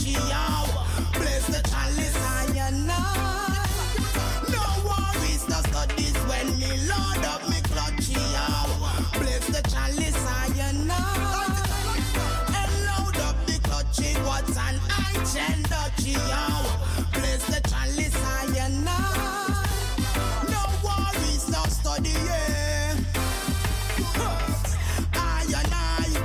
touchy, yo. Bless the chalice, I and I. No worries, no studies when me load up me clutchy, yo. Bless the chalice, I and I. And load up the clutchy, what's an ancient dutchy, yo. Bless the chalice, I and I. No worries, no study, yeah. I and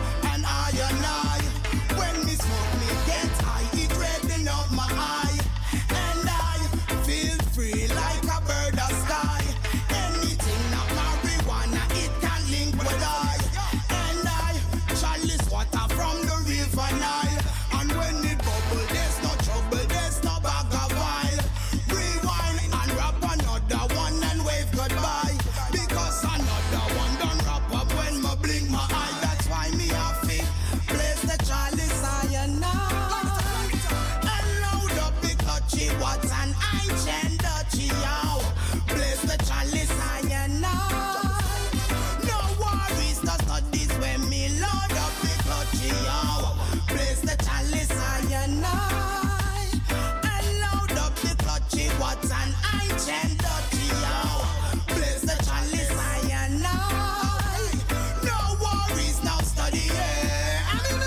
I. When me smoke, me get high, it redden up my eye. And I feel free like a bird of sky. Anything not marijuana, it can link with I. And I chalice water from the river Nile. And when it bubble, there's no trouble, there's no bag of oil. Rewind and wrap another one and wave goodbye. Because another one done wrap up when me blink my eye. That's why me happy. Place the chalice I and I. And load up the clutchy, what's an ancient dutchy, yo. Place the chalice I and I. No worries, no studies when me load up the clutchy, yo. Place the chalice I and I. And load up the clutchy, what's an ancient dutchy, yo. Place the chalice I and I. No worries, no study, yeah.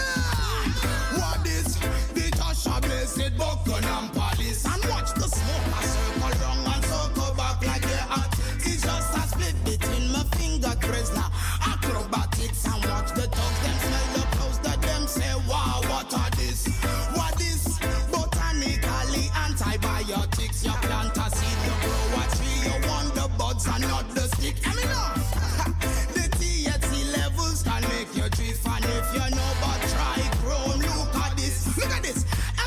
What is the Tasha blessed buckle and palace? And watch the smoke a circle round and circle back like a hat. It's just a split between my finger Krishna. Acrobatics and watch the dogs them smell the clothes that them say wow, what are this? What is botanically antibiotics? You plant a seed, you grow a tree, you want the buds and not the stick. The THC levels can make you drift, and if you know but try chrome, look at this, yes.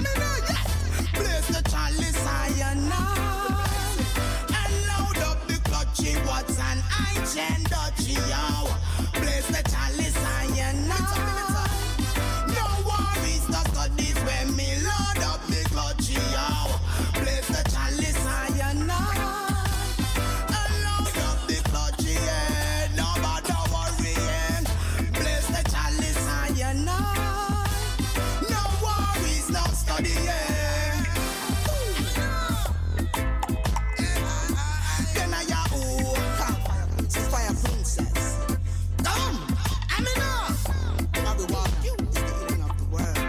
Place the chalice I and I. And load up the clutchy, what's an ancient dutchy, yo. Place the chalice I and I. No worries, no studies when me load up the clutchy, yo. Place the chalice I and I. And load up the clutchy, yeah. No bother worrying. Place the chalice I and I. No worries, no study, yeah. Then I fire princess. Come, Amina. Marijuana is the healing of the world.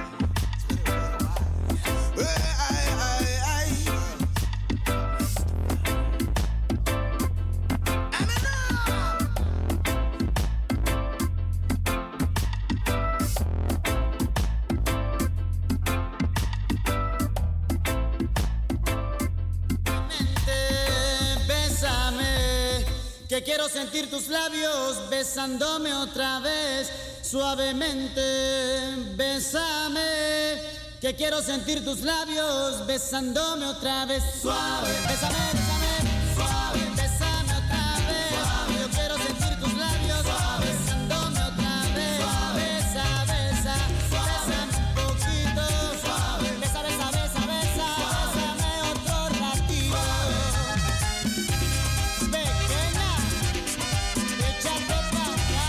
Bésame, que quiero sentir tus labios besándome otra vez suavemente. Bésame, que quiero sentir tus labios besándome otra vez suave. Bésame, bésame, suave. Bésame otra vez. Suave. Yo quiero sentir tus labios suave. Besándome otra vez. Suave. Besa, besa, suave. Bésame un poquito suave. Besa, besa, besa, besa. Suave. Bésame otro ratito. Suave. Pequeña, échate pa' acá.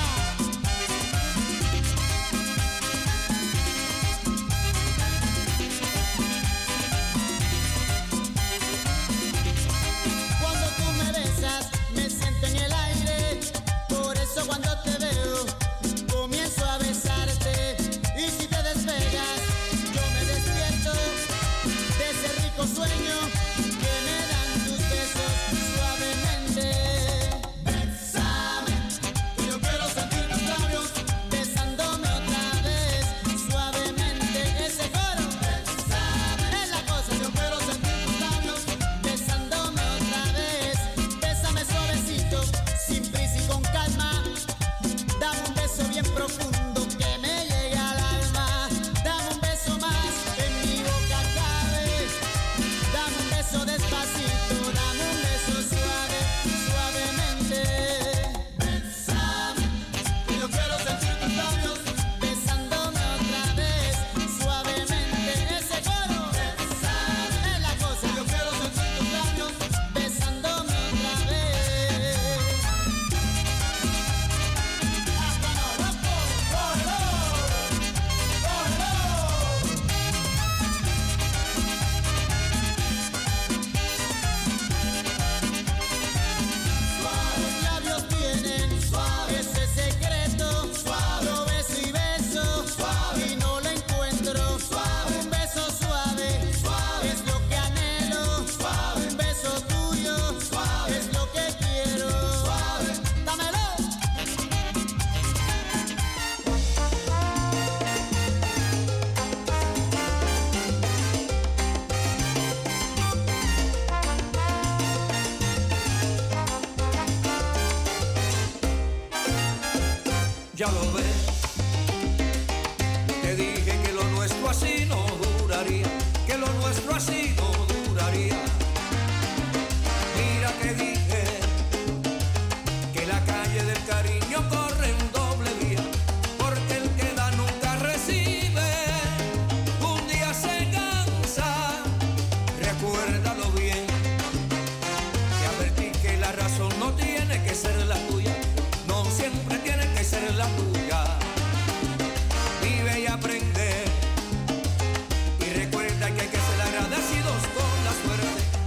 ya lo ves. Te dije que lo nuestro así no duraría, que lo nuestro así no duraría. Mira que dije que la calle del cariño corre en doble vía, porque el que da nunca recibe, un día se cansa. Recuérdalo bien, que advertí que la razón no tiene que ser la tuya, no siempre tiene que ser la tuya. Vive y aprende, y recuerda que hay que ser agradecidos con la suerte,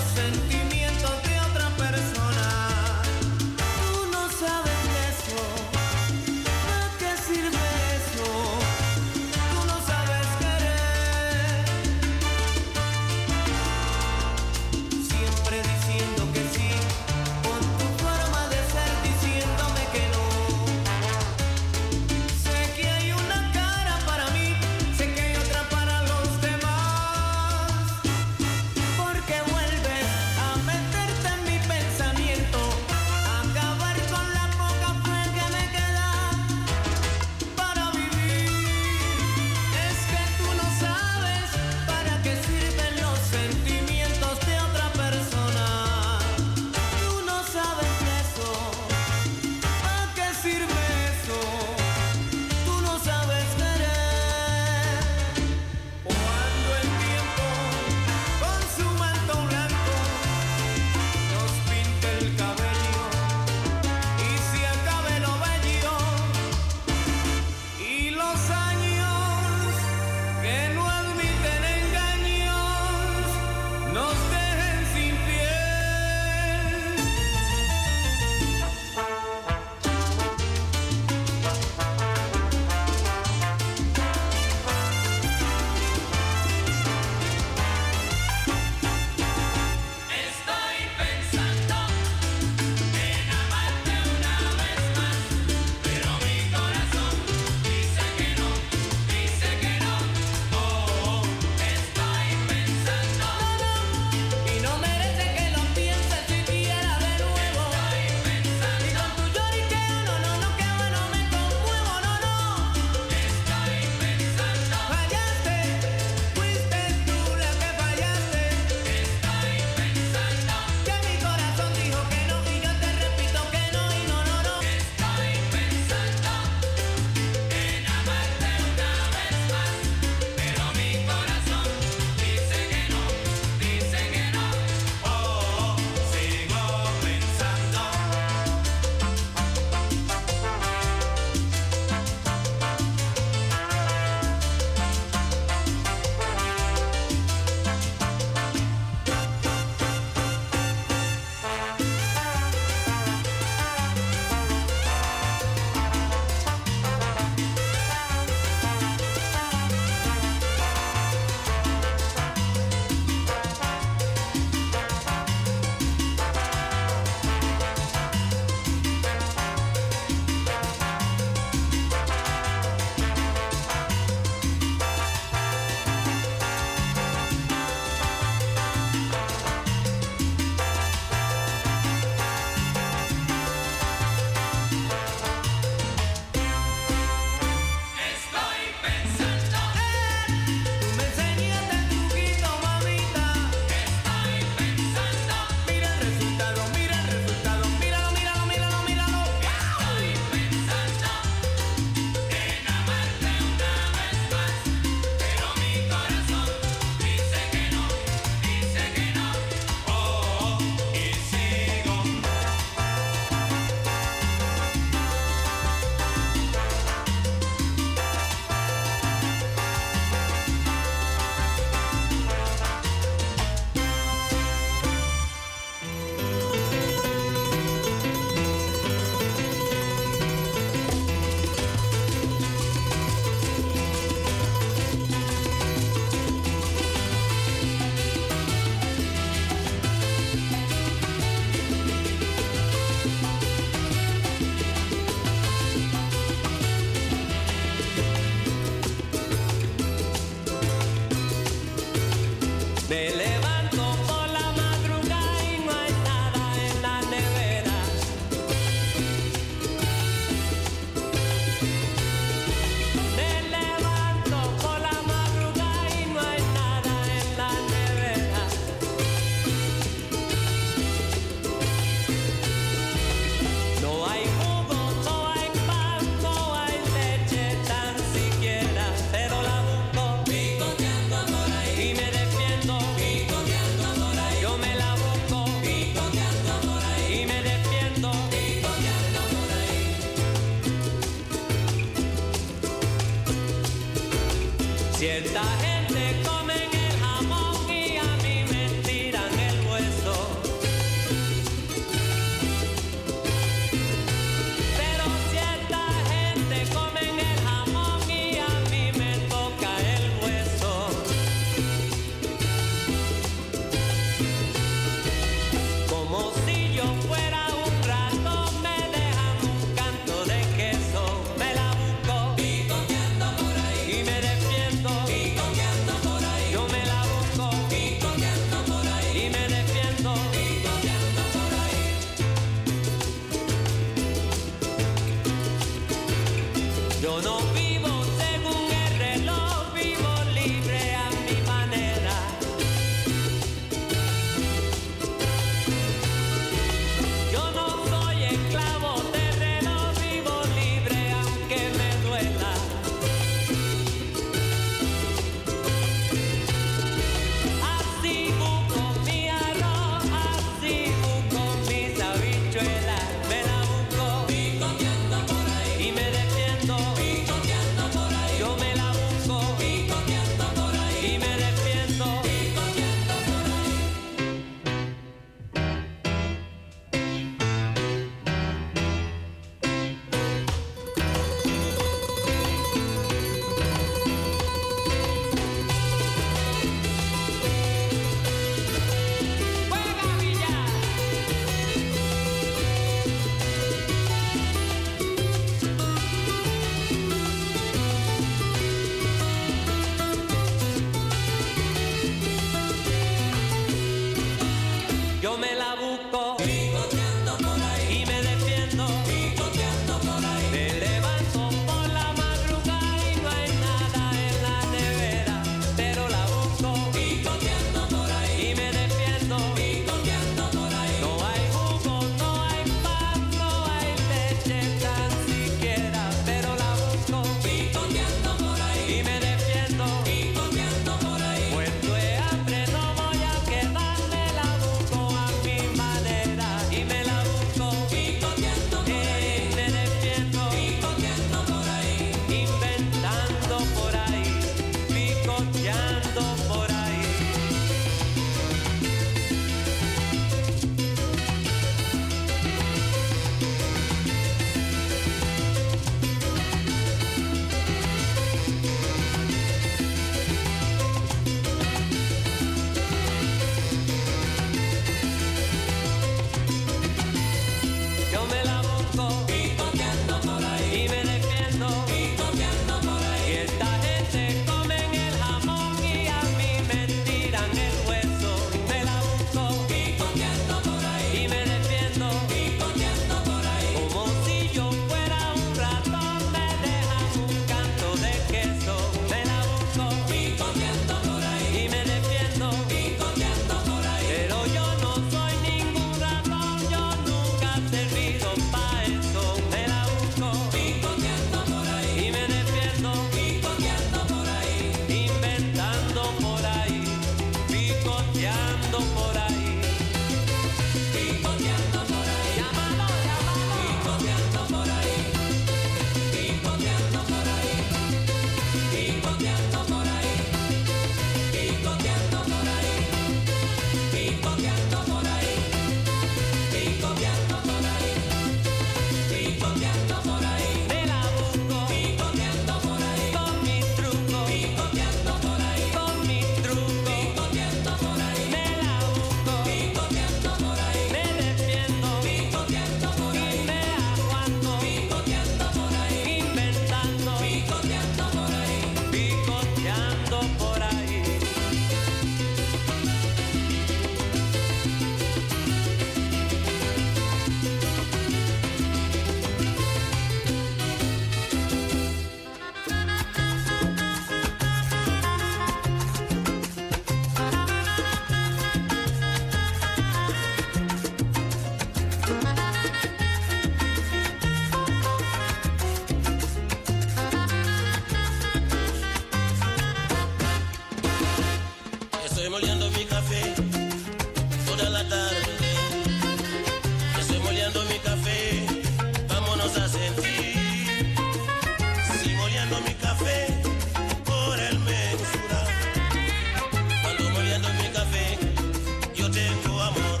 Estoy moliendo mi café toda la tarde. Estoy moliendo mi café, vámonos a sentir. Sí, moliendo mi café por el mensura. Cuando moliendo mi café, yo tengo amor.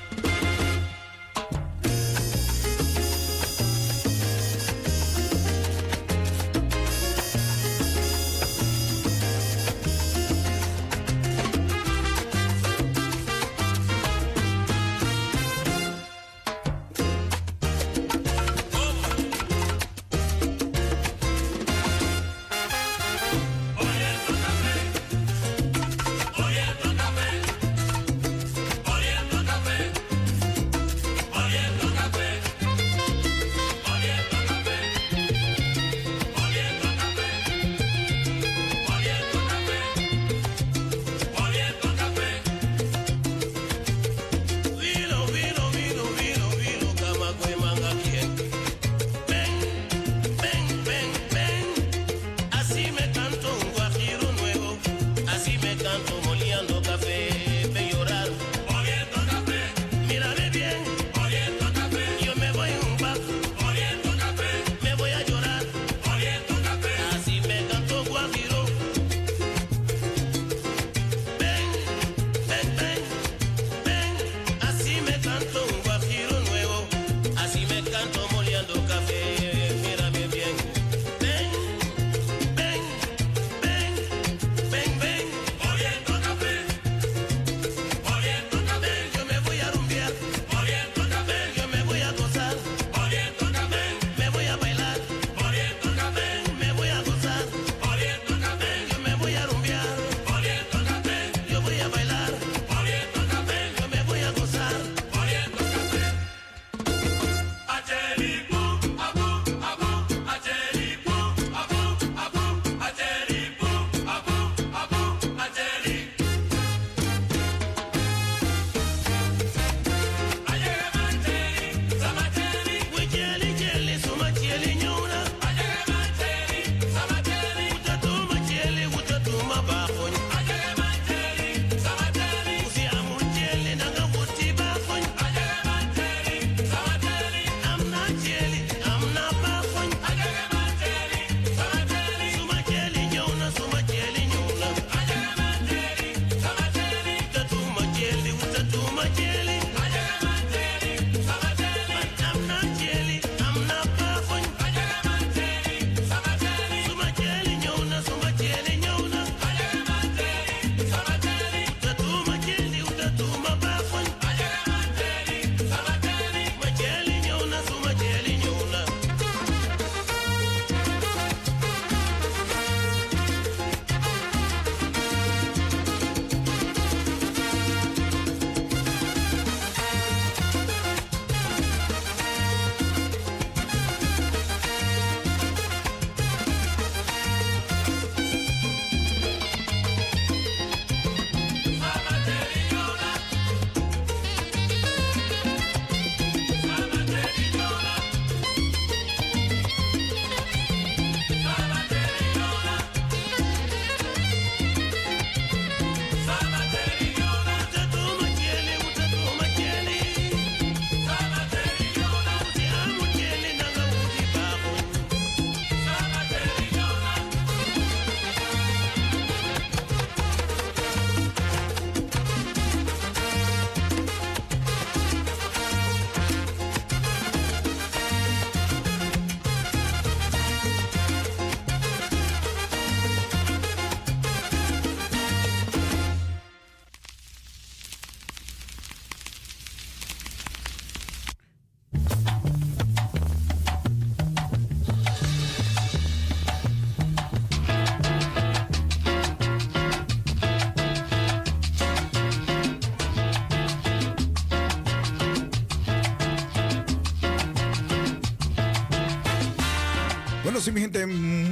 Bueno, sí, mi gente,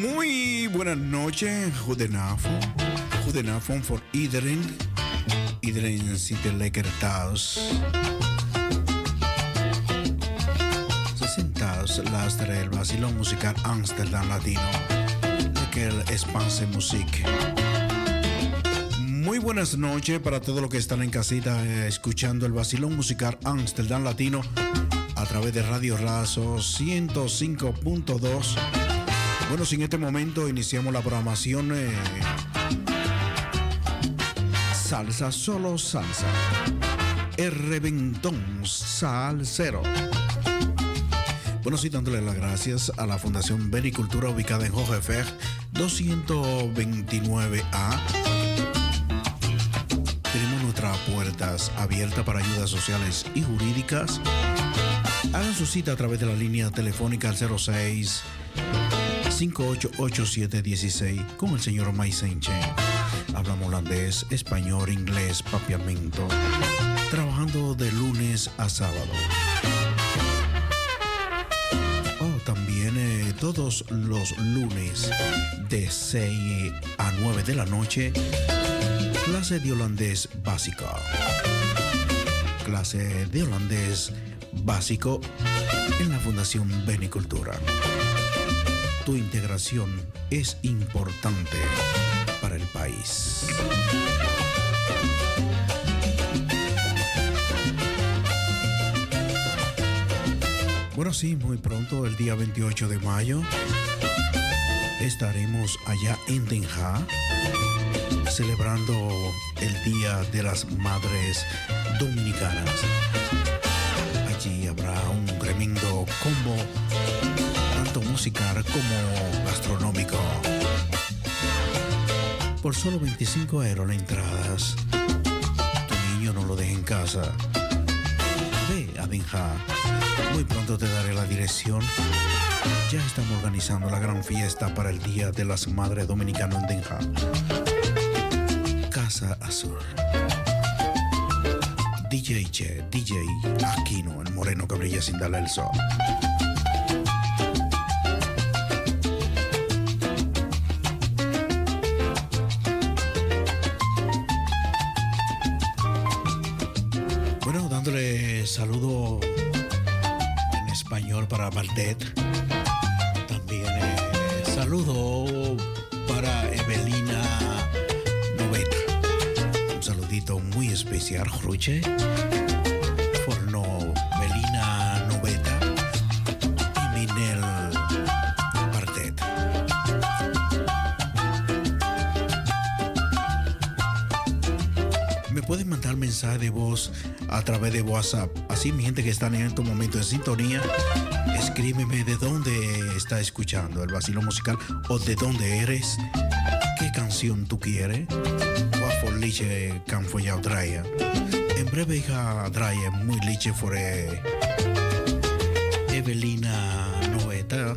muy buenas noches. Goedenavond. Goedenavond voor iedereen. Iedereen zit er lekker thuis. Ze zijn thuis, luisteren el vacilón musical Amsterdam Latino. Lekker Spaanse muziek. Muy Muy buenas noches para todos los que están en casita escuchando el vacilón musical Amsterdam Latino a través de Radio Razo 105.2. Bueno, en este momento iniciamos la programación Salsa, solo salsa. El reventón salsero. Bueno, sí, dándole las gracias a la Fundación Benicultura ubicada en Hogefer 229A. Tenemos nuestras puertas abiertas para ayudas sociales y jurídicas. Hagan su cita a través de la línea telefónica al 06 588716 con el señor Maisenche. Hablamos holandés, español, inglés, papiamento. Trabajando de lunes a sábado. También todos los lunes de 6 a 9 de la noche, clase de holandés básico. Clase de holandés básico en la Fundación Benicultura. Tu integración es importante para el país. Bueno, sí, muy pronto, el día 28 de mayo, estaremos allá en Den Haag, celebrando el Día de las Madres Dominicanas. Allí habrá un tremendo combo, tanto musical como gastronómico. Por solo 25 € la entrada. Tu niño no lo deje en casa. Ve a Den Haag. Muy pronto te daré la dirección. Ya estamos organizando la gran fiesta para el Día de las Madres Dominicanas en Den Haag. Casa Azul. DJ Aquino, el moreno que brilla sin darle el sol. Bueno, dándole saludo para Valdet. También saludo para Evelina Noveta. Un saludito muy especial, Ruche. Forno Evelina Noveta y Minel Valdet. Me pueden mandar mensaje de voz a través de WhatsApp. Así, mi gente que están en estos momentos en sintonía, escríbeme de dónde está escuchando el vacilo musical o de dónde eres, qué canción tú quieres. Guapo liche canfo ya draya. En breve hija draya muy liche fore Evelina Noeta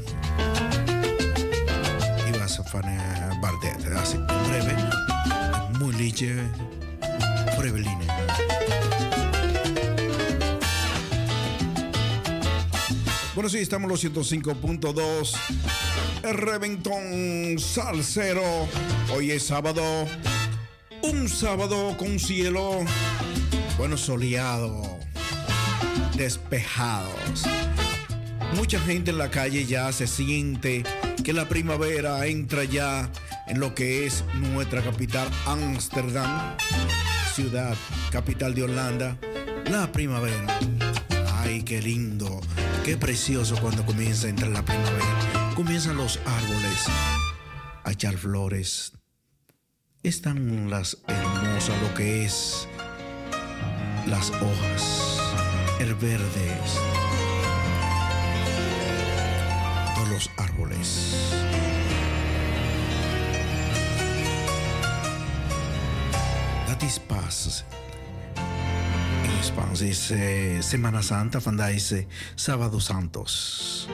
y vas a fane Bardet. Así, en breve muy liche por Evelina. Bueno, sí, estamos en los 105.2. El reventón salsero. Hoy es sábado. Un sábado con cielo, bueno, soleado, despejados. Mucha gente en la calle ya se siente que la primavera entra ya en lo que es nuestra capital, Ámsterdam, ciudad capital de Holanda. La primavera. Ay, qué lindo. Qué precioso cuando comienza a entrar la primavera. Comienzan los árboles a echar flores. Están las hermosas, lo que es las hojas, el verde de los árboles. That is paz. En es Semana Santa, vandaag is Sábado Santos.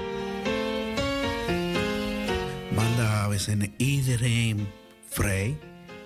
Maandag we zijn iedereen vrij.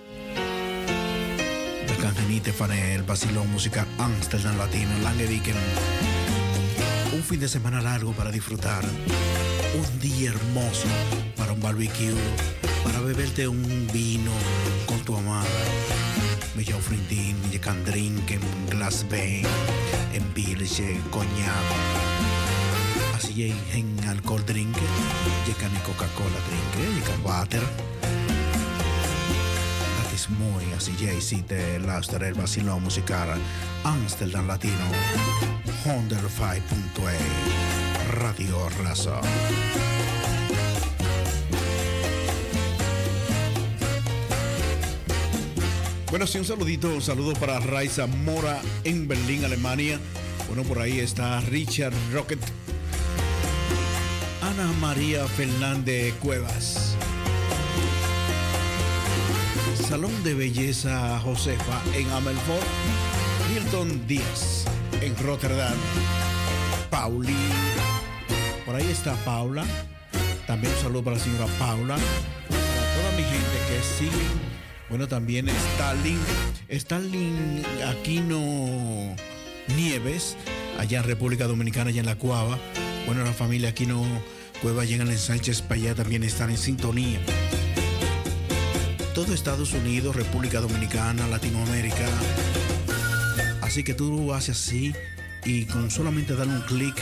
We kan genieten van el vacilón musical Amsterdam Latino, lange weekend. Un fin de semana largo para disfrutar. Un día hermoso para un barbecue, para beberte un vino con tu amada. Met jouw vriendin, je kan drinken, een glas wijn, een biertje, cognac. Als je geen alcohol drinken, je kan Coca-Cola drinken, je kan water. Dat is is mooi als jij ziet luisteren el vacilón musical Amsterdam Latino 105.2 Radio Razo. Bueno, sí, un saludo para Raiza Mora en Berlín, Alemania. Bueno, por ahí está Richard Rocket, Ana María Fernández Cuevas, Salón de Belleza Josefa en Amelfort, Hilton Díaz en Rotterdam, Pauli, por ahí está Paula, también un saludo para la señora Paula, para toda mi gente que sigue. Bueno, también Stalin Aquino Nieves, allá en República Dominicana, allá en La Cuava. Bueno, la familia Aquino Cueva llegan en Sánchez para allá, también están en sintonía. Todo Estados Unidos, República Dominicana, Latinoamérica. Así que tú haces así y con solamente darle un clic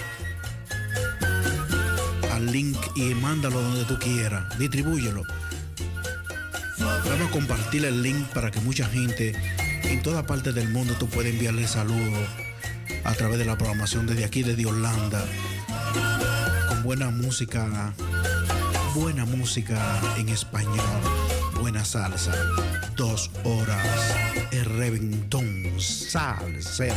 al link y mándalo donde tú quieras, distribúyelo. Vamos a compartir el link para que mucha gente en toda parte del mundo tú puedas enviarle saludos a través de la programación desde aquí, desde Holanda, con buena música en español, buena salsa, 2 horas, el reventón salsero.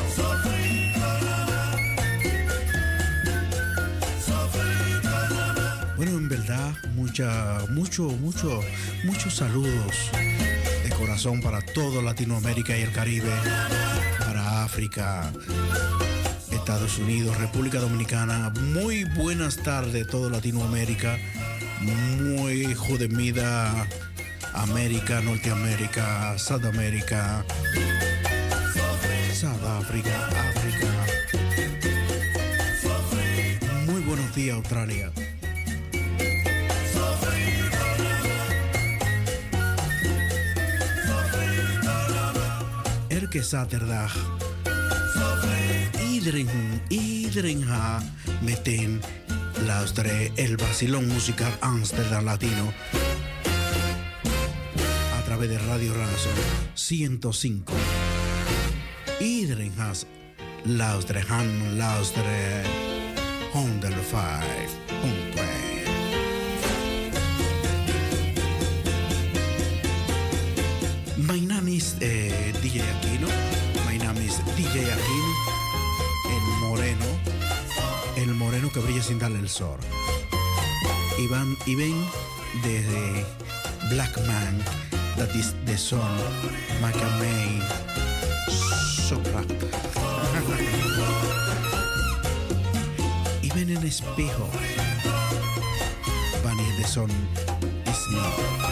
Bueno, en verdad, muchos saludos de corazón para toda Latinoamérica y el Caribe, para África, Estados Unidos, República Dominicana. Muy buenas tardes, toda Latinoamérica. Muy jodemida América, Norteamérica, Sudamérica, Sudáfrica, África. Muy buenos días, Australia. Elke zaterdag iedereen gaat meteen luisteren el vacilón musical Amsterdam Latino a través de Radio Razo 105. Iedereen gaat luisteren 105.2. My name is DJ Aquino. My name is DJ Aquino. El moreno que brilla sin darle el sol. Y ven desde Black Man, that is the song, Macamay, Sopra. Y ven en espejo, Bunny the Son is me.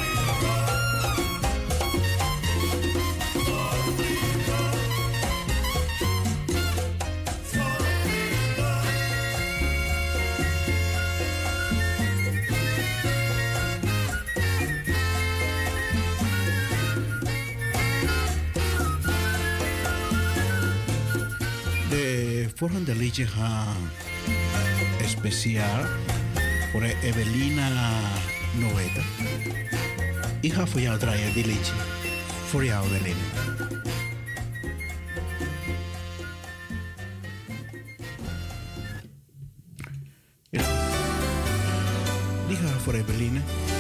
Volgende liedje gaan speciaal voor Evelina Noeta. Ik ga voor jou draaien die liedje. Voor jou, Evelina. Ja. Die ga voor Evelina.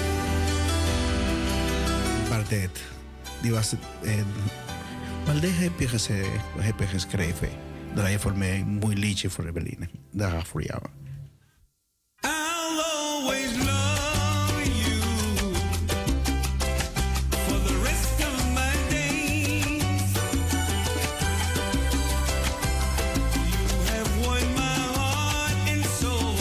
Bardet. Die was het. Bardet heb je geschreven. Draai je voor mij een mooi liedje voor Evelina. Daar ga ik voor jou. I'll always love you for the rest of my days. You have won my heart and soul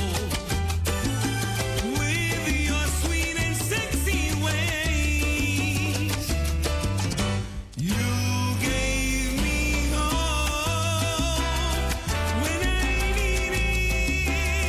with your sweet and sexy ways. You gave me hope when I needed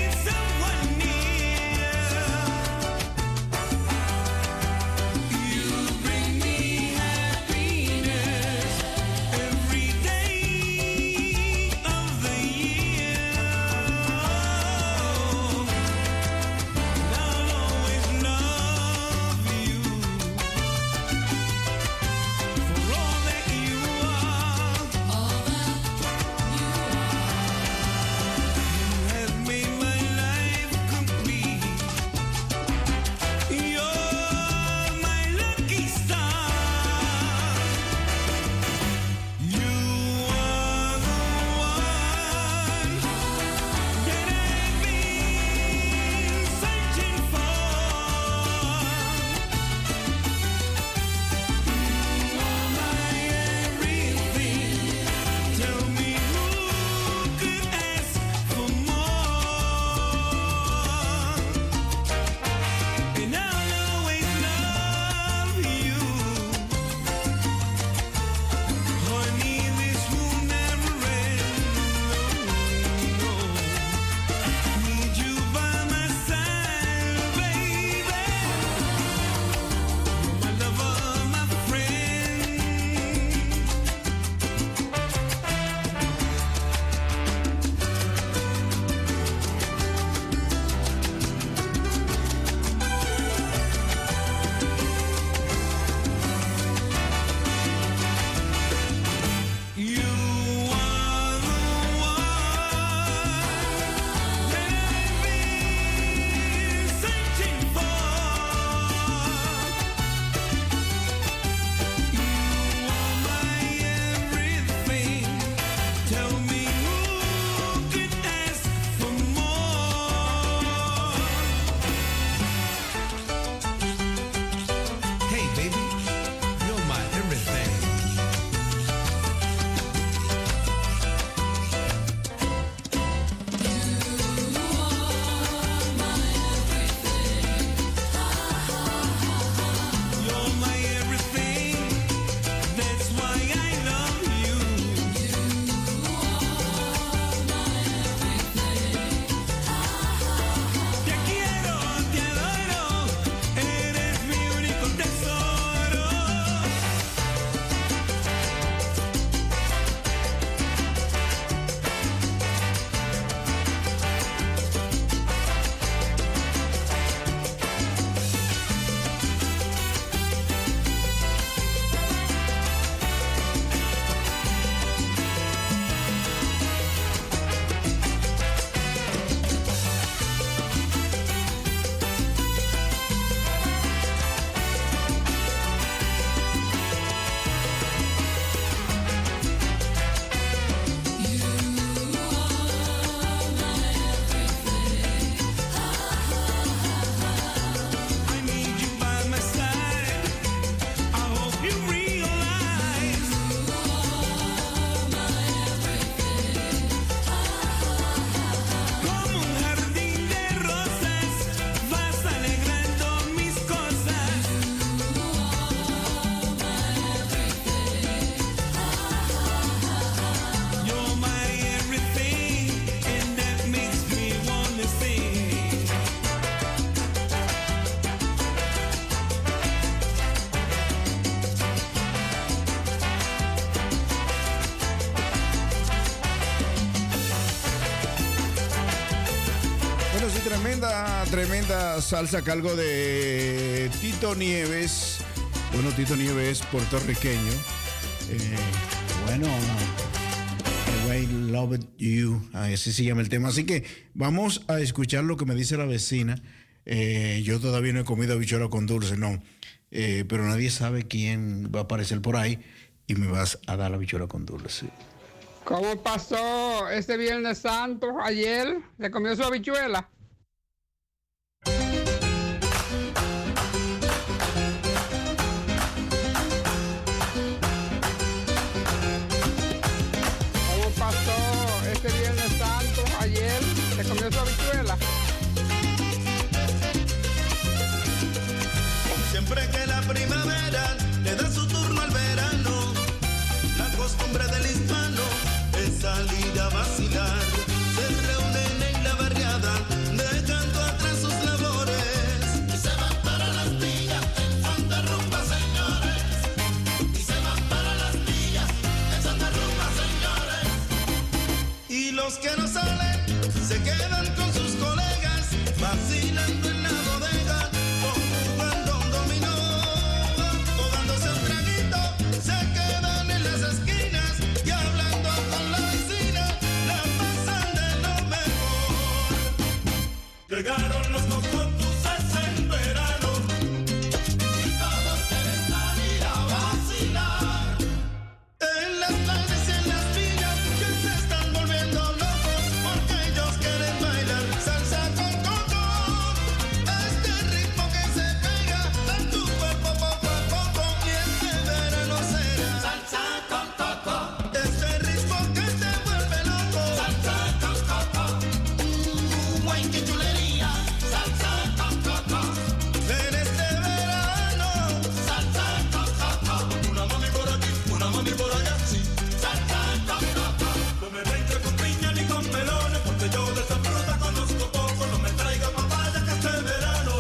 Tremenda salsa a cargo de Tito Nieves. Bueno, Tito Nieves es puertorriqueño. Bueno, The Way Loved You, así se llama el tema. Así que vamos a escuchar lo que me dice la vecina. Yo todavía no he comido habichuela con dulce, no. Pero nadie sabe quién va a aparecer por ahí y me vas a dar la habichuela con dulce. ¿Cómo pasó este Viernes Santo ayer? ¿Le comió su habichuela? ¿Cómo pasó este Viernes Santo ayer? ¿Le comió su habichuela? Siempre que la primavera le da su turno al verano, la costumbre del hispano es salir a vacilar. Se reúnen en la barriada, dejando atrás sus labores, y se van para las villas en son de rumba, señores. Y se van para las villas en son de rumba, señores. Y los que no salen se quedan con sus colegas, vacilando en la bodega, jugando un dominó o dándose un traguito. Se quedan en las esquinas y hablando con la vecina, la pasan de lo mejor. Llegaron los cocotuces en verano y todos quieren salir a vacilar. En las playas y en las villas que se están volviendo locos porque ellos quieren bailar salsa con coco. Este ritmo que se pega en tu cuerpo poco a poco, y este verano será salsa con coco. Este ritmo que te vuelve loco, salsa con coco. Guay, qué chulería, salsa con coco. En este verano, salsa con coco. Una mami por aquí, una mami por allá, sí, salsa con coco. No me venga con piña ni con melones, porque yo de esa fruta conozco poco. No me traiga papaya que este verano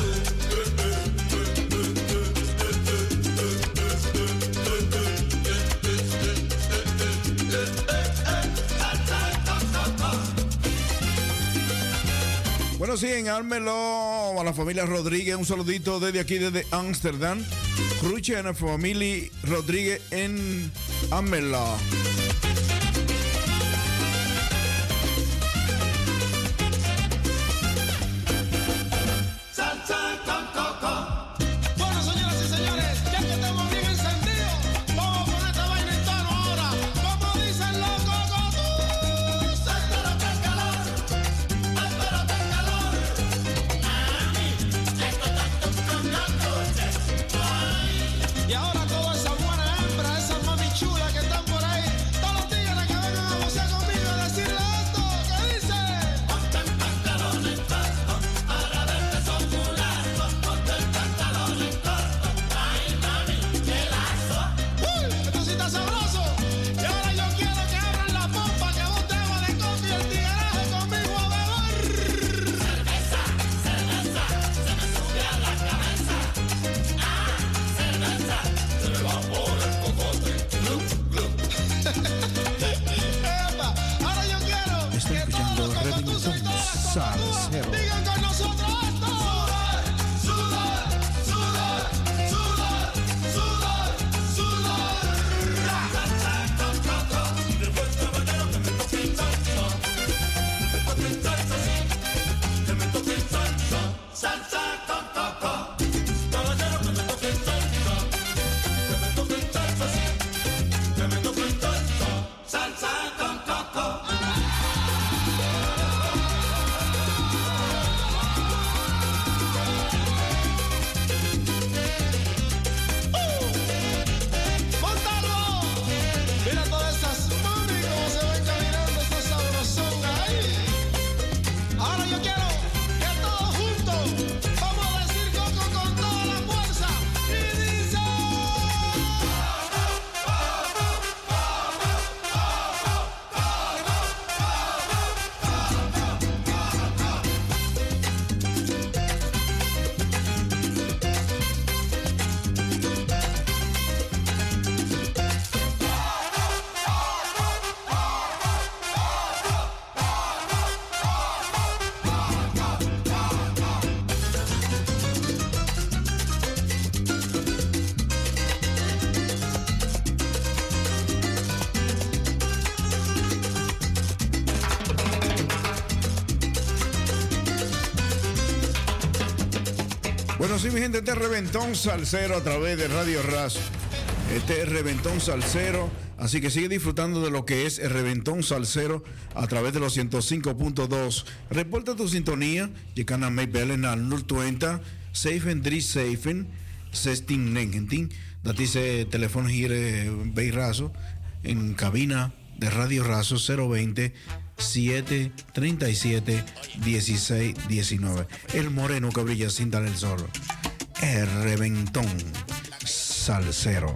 Bueno, sí, en Ármelo a la familia Rodríguez, un saludito desde aquí, desde Ámsterdam. Cruche a la familia Rodríguez en Ármelo. salsa con coco. Bueno, señoras y señores, ya que estamos bien encendidos, vamos a poner esta vaina en tono ahora. Como dicen los cocotus. Espero que el calor, espero que el calor. Mami, esto está tocando dulces. Y ahora toda esa buena hembra, esas mami chulas que están por ahí, Bueno, sí, mi gente, este es Reventón Salsero a través de Radio Razo. Este es Reventón Salsero, así que sigue disfrutando de lo que es el Reventón Salsero a través de los 105.2. Reporta tu sintonía, je kan naar mij bellen naar 020 737 1619. Dat is het telefoon hier bij Razo, en cabina de Radio Razo 020 737 1619. El moreno que brilla sin dar el sol. El Reventón Salsero.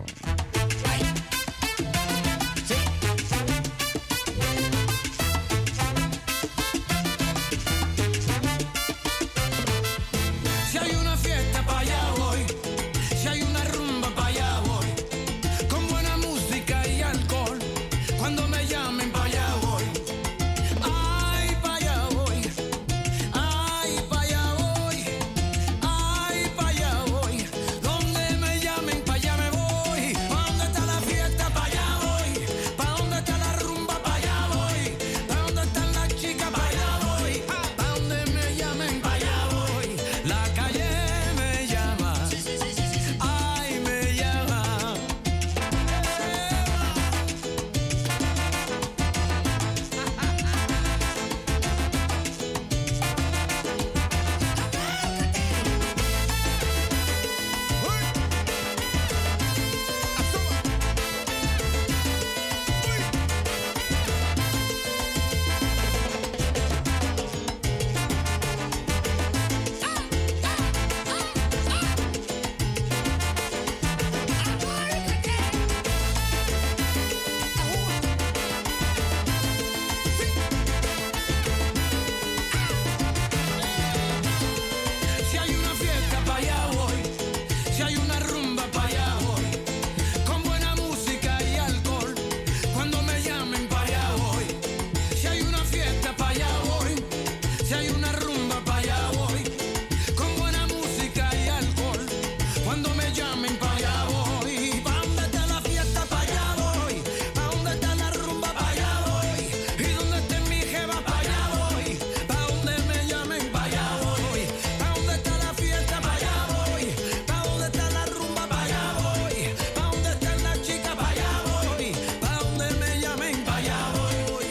Si hay una fiesta pa' allá voy, si hay una rumba pa' allá voy, con buena música y alcohol, cuando me llamen pa' allá voy. Ay, pa' allá voy, ay, pa' allá voy, ay, pa' allá voy, donde me llamen pa' allá me voy. Pa' donde está la fiesta pa' allá voy, pa' donde está la rumba pa' allá voy, pa' donde están las chicas pa' allá voy, pa' donde me llamen pa' allá voy. La calle me llama, ay, me llama. Si hay una fiesta pa' allá voy, si hay una rumba pa' allá voy, con buena música y alcohol, cuando me llamen pa' allá voy. Si hay una fiesta pa' allá voy, si hay una rumba pa' allá voy, con buena música y alcohol, cuando me llamen pa' allá voy. Pa' donde está la fiesta pa' allá voy, pa' donde está la rumba pa' allá voy, y donde esté mi jeva pa' allá voy, pa' donde me llamen pa' allá voy, pa' donde está la fiesta pa' allá voy, pa' donde está la rumba pa' allá voy, pa' donde están las chicas pa' allá voy, pa' donde me llamen pa' allá voy.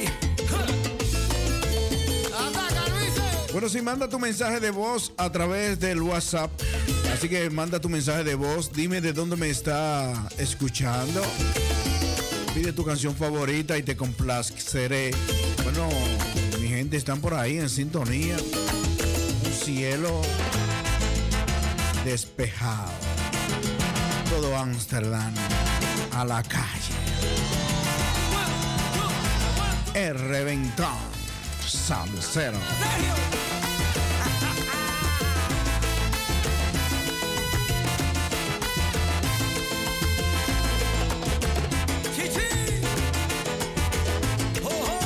¡Ataca, Luis! Bueno, si manda tu mensaje de voz a través del WhatsApp, así que manda tu mensaje de voz, dime de dónde me está escuchando, pide tu canción favorita y te complaceré. Bueno, mi gente están por ahí en sintonía, un cielo despejado, todo Ámsterdam a la calle. El Reventón Salsero. Chichi. Oh, oh.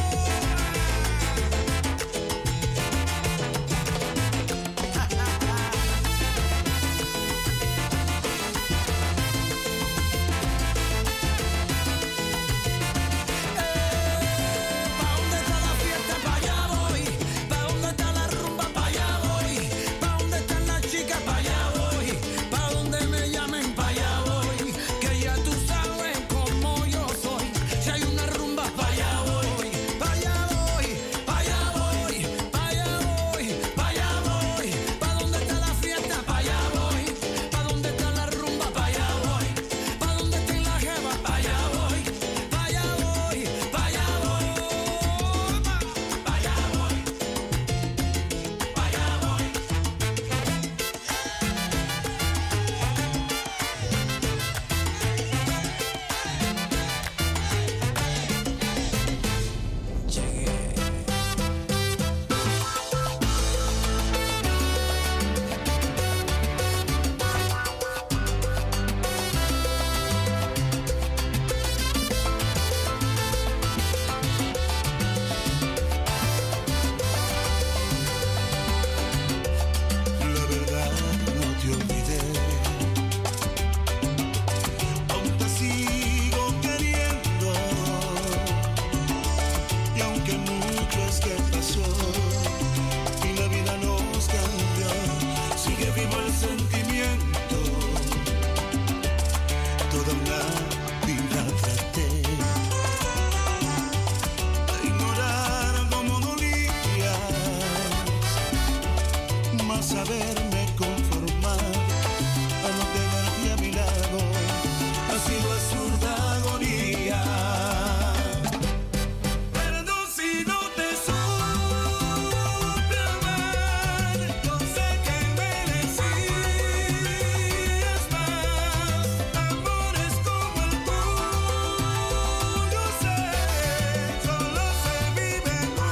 Pa' donde está la fiesta pa' allá voy, pa' donde está la saberme conformar a no tenerte a mi lado. Ha sido absurda agonía. Perdón si no te supe amar, no sé que merecías más. Amores como el tuyo sé, solo se viven una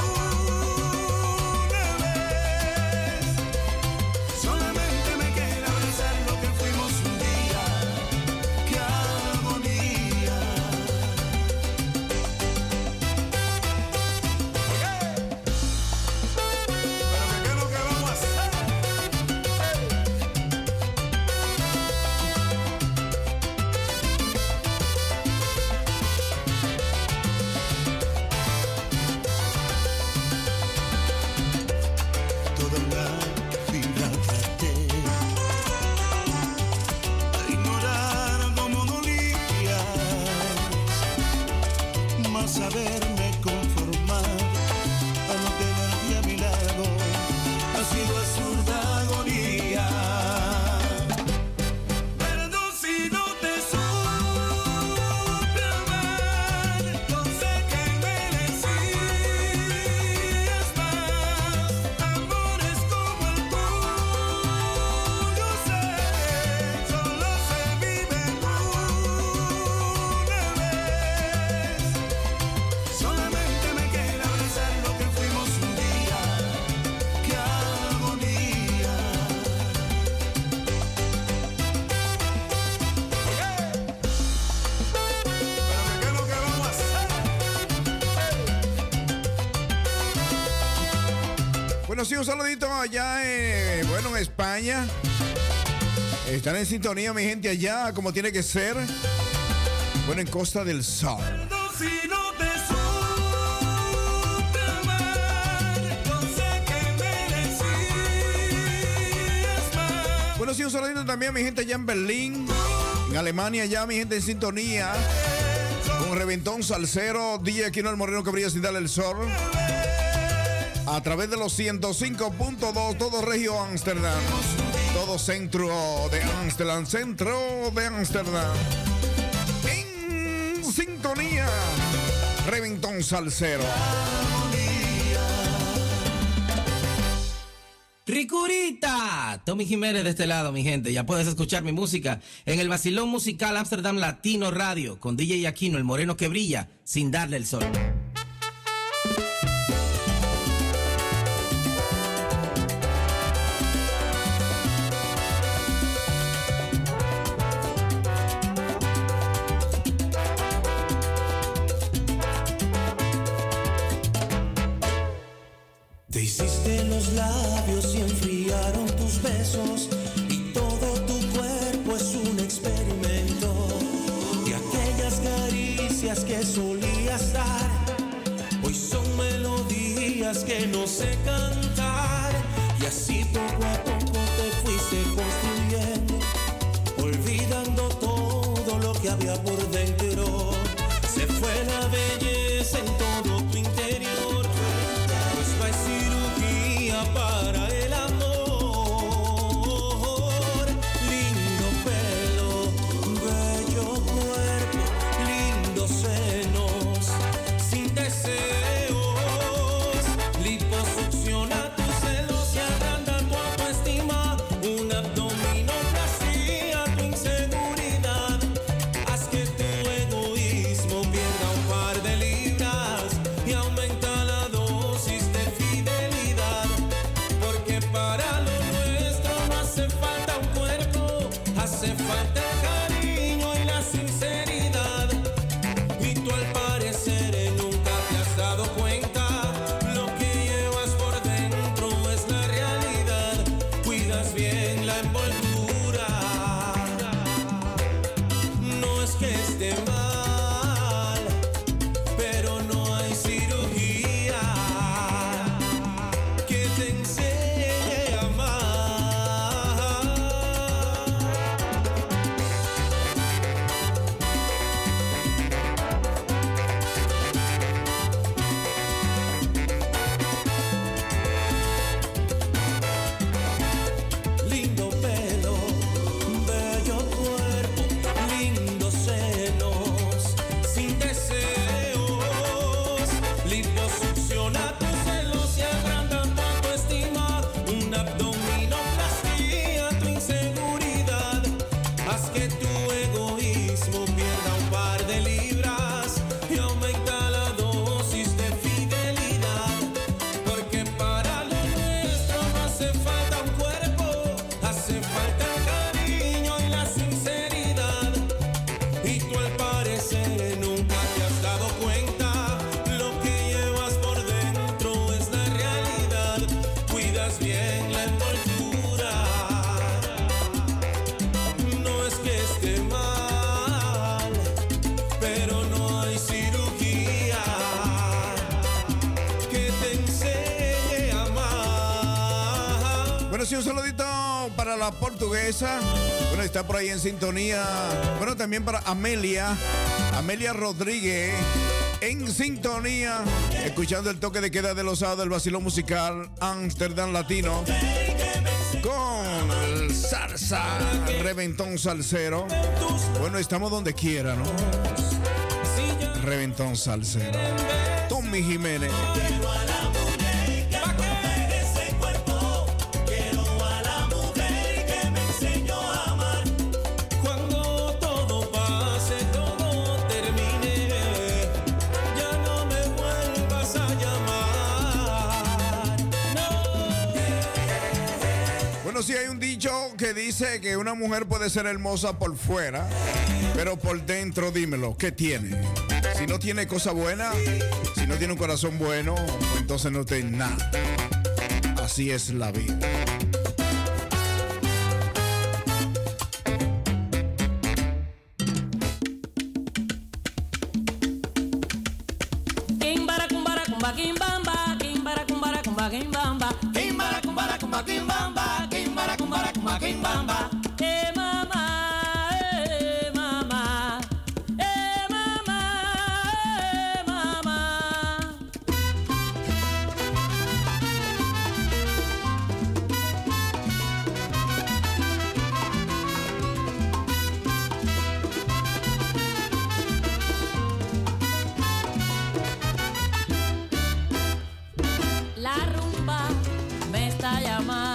vez. Solamente me queda abrazar lo que fuimos un día. ¡Qué agonía! Pero ¿qué es lo que vamos a hacer? Toda la vida traté de ignorar cómo dolías, más saberme conformar a no tenerte a mi lado. Ha sido absurda agonía. Perdón si no te supe amar, no sé que merecías más. Amores como el tuyo sé, solo se viven una vez. Solamente me queda abrazar lo que fuimos un día. ¡Qué agonía! Pero ¿qué es lo que vamos a hacer? Bueno, sí, un saludito allá en España. Están en sintonía, mi gente, allá, como tiene que ser. Bueno, en Costa del Sol. Perdón si no te supe amar, no sé que merecías más. Bueno, sí, un saludito también, mi gente, allá en Berlín. En Alemania, ya, mi gente, en sintonía. Con Reventón Salsero, DJ Aquino el Moreno que brilla sin darle el sol. A través de los 105.2, todo Regio Ámsterdam. Todo centro de Ámsterdam, centro de Ámsterdam. En sintonía, Reventón Salsero. ¡Ricurita! Tommy Jiménez de este lado, mi gente. Ya puedes escuchar mi música en el Vacilón Musical Ámsterdam Latino Radio con DJ Aquino, el moreno que brilla sin darle el sol. Te hiciste los labios y enfriaron tus besos, y todo tu cuerpo es un experimento. Y aquellas caricias que solías dar, hoy son melodías que no sé cantar. Y así poco a poco te fuiste construyendo, olvidando todo lo que había por dentro. Se fue la belleza en todo tu interior, pues no hay cirugía para el amor. Lindo pelo, bello cuerpo, lindos senos, sin deseos. Liposucciona tus celos y agranda tu autoestima. liposucciona tus celos y agranda tu autoestima. Una abdominoplastia, tu inseguridad. Haz que tu egoísmo pierda un par de libras y aumenta la dosis de fidelidad. Porque para lo nuestro no hace falta un cuerpo, hace falta el cariño y la sinceridad. Y tú al parecer nunca te has dado cuenta, lo que llevas por dentro es la realidad. Cuidas bien la envoltura, no es que esté mal, pero no hay cirugía que te enseñe a amar. Bueno, sí, un saludito para la portuguesa. Bueno, está por ahí en sintonía. Bueno, también para Amelia Rodríguez, en sintonía, escuchando el toque de queda de los sábados del vacilón musical Amsterdam Latino con el salsa, reventón salsero. Bueno, estamos donde quiera, ¿no? Reventón salsero. Tommy Jiménez. Cuando todo pase, todo termine, ya no me vuelvas a llamar. No. Bueno, sí hay un dicho que dice que una mujer puede ser hermosa por fuera, pero por dentro, dímelo, ¿qué tiene? Si no tiene cosa buena, si no tiene un corazón bueno, entonces no tiene nada. Así es la vida. Kimbara kumbara kumba kimbamba, kimbara kumbara kumba kimbamba, kimbara kumbara kumba kimbamba, kimbara kumbara kumba kimbamba. Mama, mama, mama, mama. La rumba me está llamando.